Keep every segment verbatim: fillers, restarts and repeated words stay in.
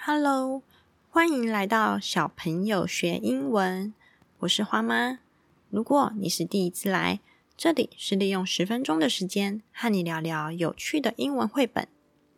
Hello， 欢迎来到小朋友学英文，我是花妈。如果你是第一次来，这里是利用十分钟的时间和你聊聊有趣的英文绘本。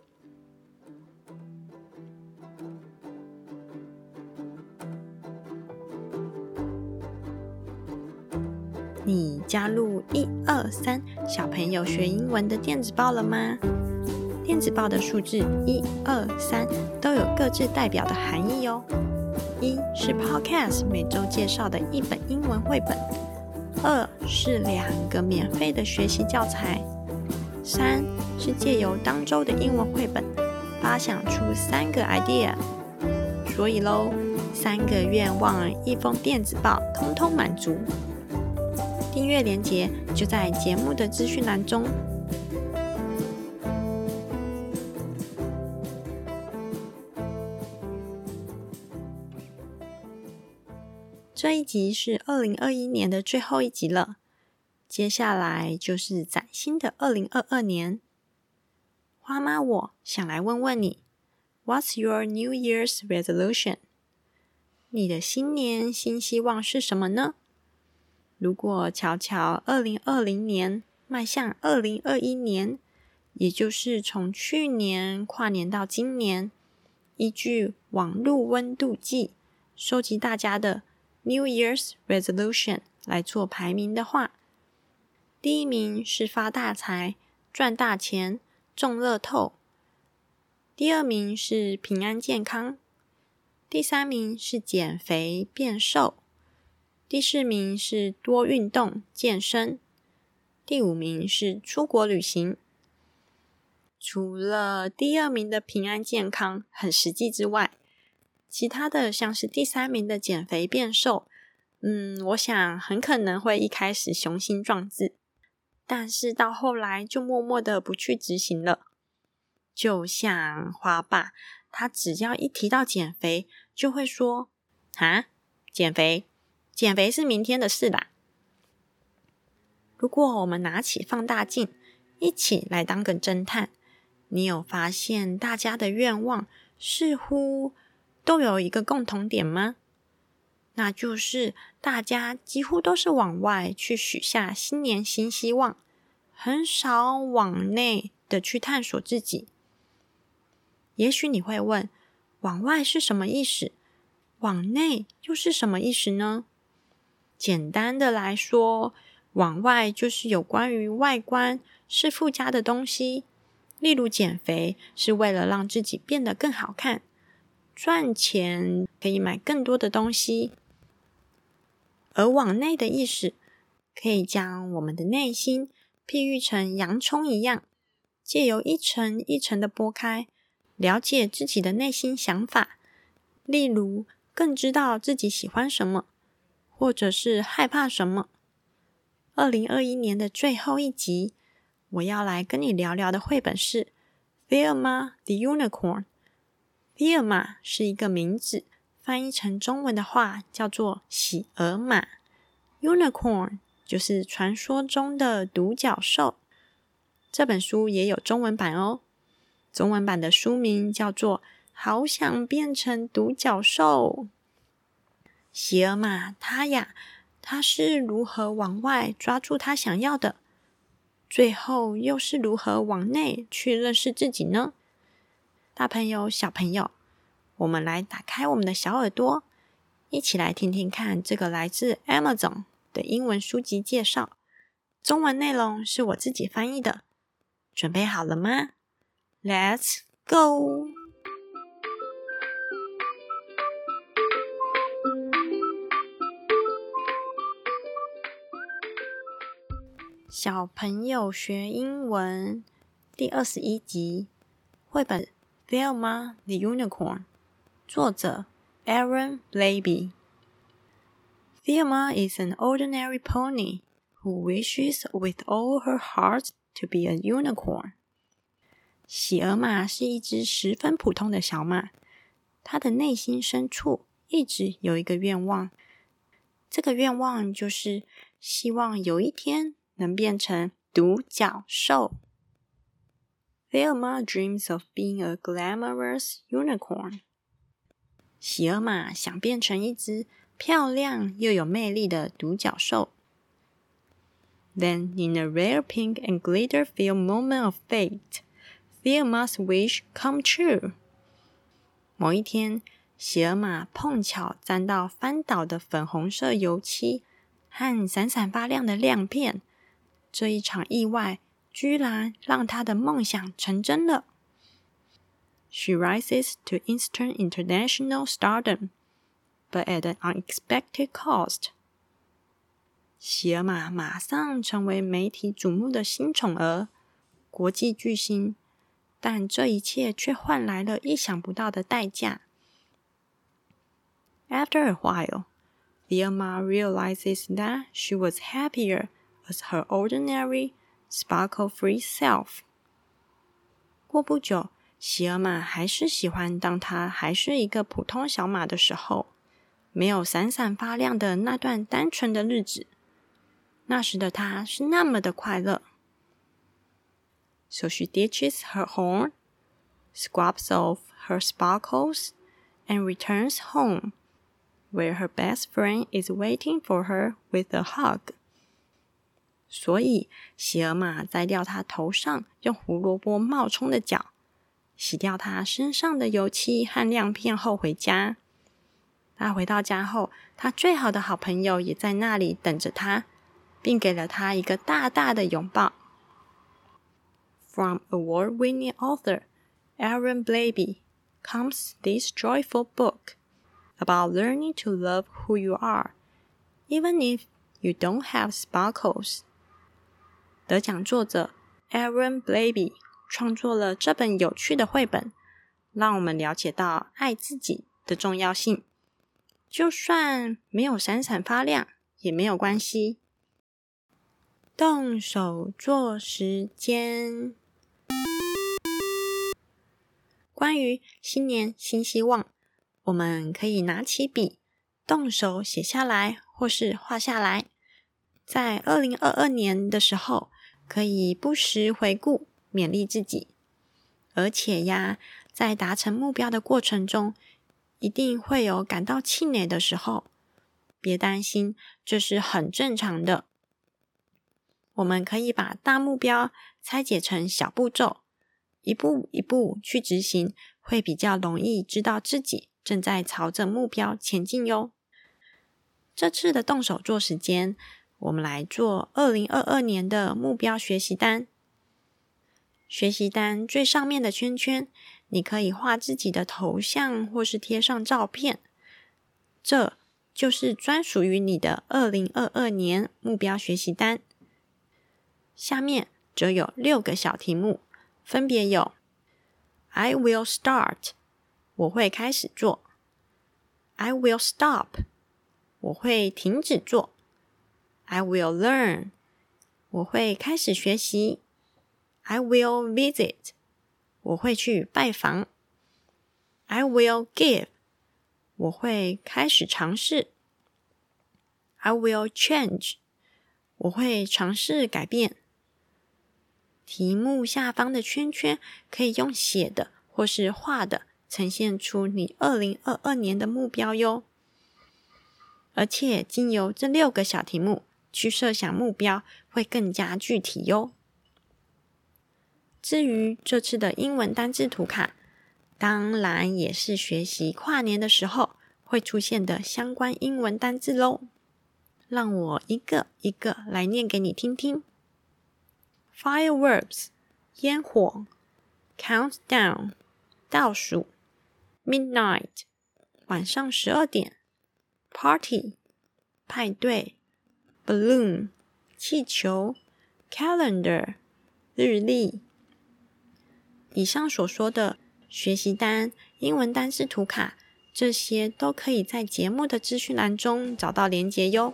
你加入一二三小朋友学英文的电子报了吗？电子报的数字一二三都有各自代表的含义哦。一是 Podcast 每周介绍的一本英文绘本，二是两个免费的学习教材，三是借由当周的英文绘本发想出三个 idea。所以咯，三个愿望一封电子报通通满足。订阅连结就在节目的资讯栏中。这一集是二零二一年的最后一集了，接下来就是崭新的二零二二年。花妈我想来问问你 What's your New Year's resolution? 你的新年新希望是什么呢？如果瞧瞧二零二零年迈向二零二一年，也就是从去年跨年到今年，依据网络温度计收集大家的New Year's resolution 来做排名的话，第一名是发大财、赚大钱、中乐透，第二名是平安健康，第三名是减肥变瘦，第四名是多运动健身，第五名是出国旅行。除了第二名的平安健康很实际之外，其他的像是第三名的减肥变瘦，嗯，我想很可能会一开始雄心壮志，但是到后来就默默的不去执行了。就像花爸，他只要一提到减肥，就会说，哈，减肥，减肥是明天的事啦。如果我们拿起放大镜，一起来当个侦探，你有发现大家的愿望似乎都有一个共同点吗？那就是大家几乎都是往外去许下新年新希望，很少往内的去探索自己。也许你会问，往外是什么意思？往内又是什么意思呢？简单的来说，往外就是有关于外观是附加的东西，例如减肥是为了让自己变得更好看，赚钱可以买更多的东西。而往内的意思，可以将我们的内心譬喻成洋葱一样，借由一层一层的剥开，了解自己的内心想法，例如更知道自己喜欢什么，或者是害怕什么。二零二一年的最后一集，我要来跟你聊聊的绘本是 Velma the Unicorn。Velma 是一个名字，翻译成中文的话叫做喜鹅马， Unicorn 就是传说中的独角兽。这本书也有中文版哦，中文版的书名叫做好想变成独角兽。喜鹅马它呀，它是如何往外抓住它想要的，最后又是如何往内去认识自己呢？大朋友小朋友，我们来打开我们的小耳朵，一起来听听看这个来自 Amazon 的英文书籍介绍，中文内容是我自己翻译的。准备好了吗？ Let's go！ 小朋友学英文第二十一集，绘本 Velma the Unicorn， 作者 Aaron Blabey。 Velma is an ordinary pony who wishes with all her heart to be a unicorn。 喜鹅马是一只十分普通的小马，它的内心深处一直有一个愿望，这个愿望就是希望有一天能变成独角兽。Velma dreams of being a glamorous unicorn. 喜尔玛想变成一只漂亮又有魅力的独角兽。Then, in a rare pink and glitter-filled moment of fate, Fiorma's wish come true. 某一天，喜尔玛碰巧沾到翻倒的粉红色油漆和闪闪发亮的亮片，这一场意外居然让她的梦想成真了。She rises to instant international stardom, but at an unexpected cost. 喜尔玛马上成为媒体瞩目的新宠儿，国际巨星，但这一切却换来了意想不到的代价。After a while, Fiorma realizes that she was happier as her ordinary, sparkle-free self. 过不久，喜尔玛还是喜欢当她还是一个普通小马的时候，没有闪闪发亮的那段单纯的日子。那时的她是那么的快乐。So she ditches her horn, scrubs off her sparkles, and returns home, where her best friend is waiting for her with a hug. 所以，喜尔玛摘掉她头上用胡萝卜冒充的角，洗掉她身上的油漆和亮片后回家。她回到家后，她最好的好朋友也在那里等着她，并给了她一个大大的拥抱。From award-winning author Aaron Blabey comes this joyful book about learning to love who you are, even if you don't have sparkles. 得奖作者 Aaron Blabey 创作了这本有趣的绘本，让我们了解到爱自己的重要性。就算没有闪闪发亮，也没有关系。动手做时间。关于新年新希望，我们可以拿起笔，动手写下来或是画下来。在二零二二年的时候，可以不时回顾，勉励自己。而且呀，在达成目标的过程中，一定会有感到气馁的时候，别担心，这是很正常的。我们可以把大目标拆解成小步骤，一步一步去执行，会比较容易知道自己正在朝着目标前进哟。这次的动手做时间，我们来做二零二二年的目标学习单。学习单最上面的圈圈，你可以画自己的头像或是贴上照片，这就是专属于你的二零二二年目标学习单。下面则有六个小题目，分别有 I will start 我会开始做， I will stop 我会停止做， I will learn 我会开始学习， I will visit 我会去拜访， I will give 我会开始尝试， I will change 我会尝试改变。题目下方的圈圈可以用写的或是画的呈现出你二零二二年的目标哟。而且经由这六个小题目去设想目标会更加具体哟。至于这次的英文单字图卡，当然也是学习跨年的时候会出现的相关英文单字咯。让我一个一个来念给你听听。Fireworks 烟火， Countdown 倒数， Midnight 晚上十二点， Party 派对， Balloon 气球， Calendar 日历。以上所说的学习单、英文单字图卡，这些都可以在节目的资讯栏中找到连结哟。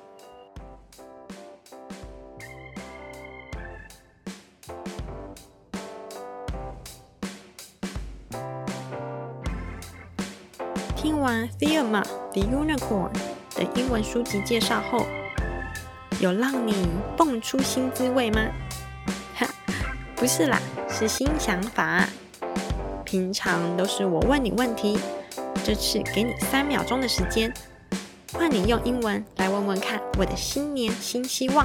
听完 Fiorma the Unicorn 的英文书籍介绍后，有让你蹦出新滋味吗？哈，不是啦，是新想法。平常都是我问你问题， 这次给你三秒钟的时间，换你用英文来问问看我的新年新希望。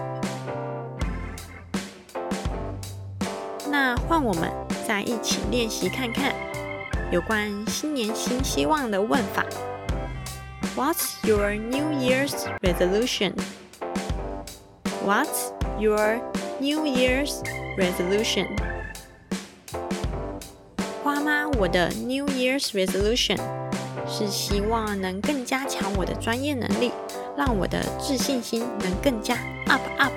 那换我们再一起练习看看有关新年新希望的问法。 What's your New Year's resolution? What's your New Year's resolution? 花妈，我的 New Year's resolution 是希望能更加强我的专业能力，让我的自信心能更加 up up。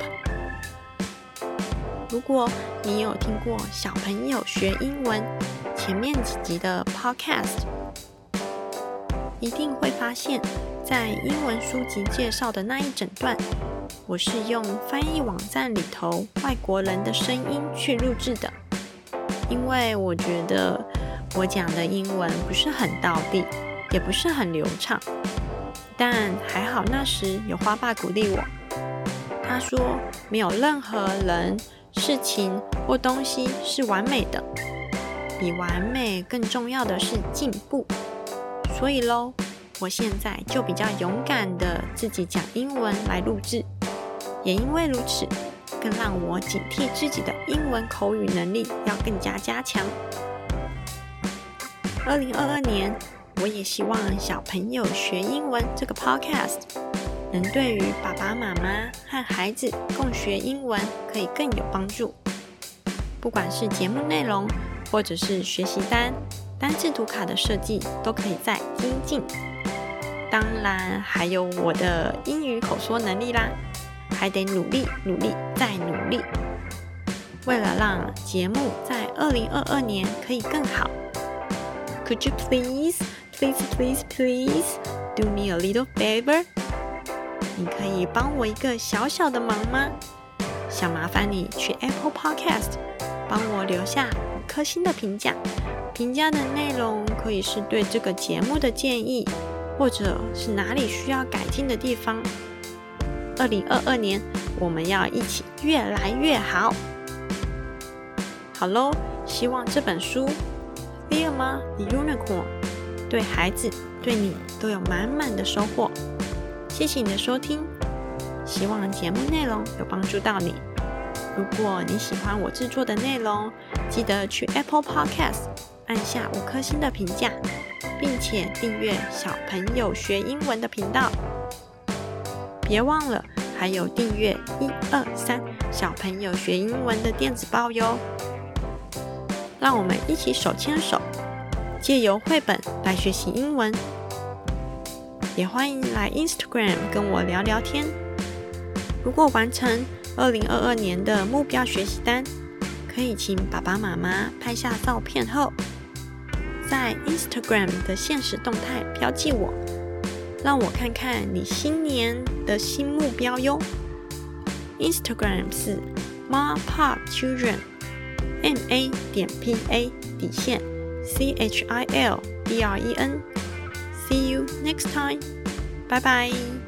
如果你有听过小朋友学英文前面几集的 podcast， 一定会发现在英文书籍介绍的那一整段，我是用翻译网站里头外国人的声音去录制的。因为我觉得我讲的英文不是很道地，也不是很流畅，但还好那时有花爸鼓励我，他说没有任何人、事情或东西是完美的，比完美更重要的是进步。所以咯，我现在就比较勇敢的自己讲英文来录制，也因为如此，更让我警惕自己的英文口语能力要更加加强。二零二二年，我也希望小朋友学英文这个 podcast 能对于爸爸妈妈和孩子共学英文可以更有帮助。不管是节目内容，或者是学习单、单字图卡的设计，都可以再精进。当然，还有我的英语口说能力啦，还得努力、努力再努力。为了让节目在二零二二年可以更好， Could you please, please, please, please do me a little favor? 你可以帮我一个小小的忙吗？想麻烦你去 Apple Podcast 帮我留下五颗星的评价。评价的内容可以是对这个节目的建议，或者是哪里需要改进的地方。二零二二年，我们要一起越来越好。好咯，希望这本书 Vilma the Unicorn 对孩子对你都有满满的收获。谢谢你的收听，希望节目内容有帮助到你。如果你喜欢我制作的内容，记得去 Apple Podcast 按下五颗星的评价，并且订阅小朋友学英文的频道。别忘了还有订阅一二三小朋友学英文的电子报哟。让我们一起手牵手，借由绘本来学习英文。也欢迎来 Instagram 跟我聊聊天。如果完成二零二二年的目标学习单，可以请爸爸妈妈拍下照片后，在 Instagram 的限时动态标记我，让我看看你新年的新目标哟。Instagram 是 mapopchildren M A 点 P A 底线 C H I L D R E N。See you next time. Bye bye.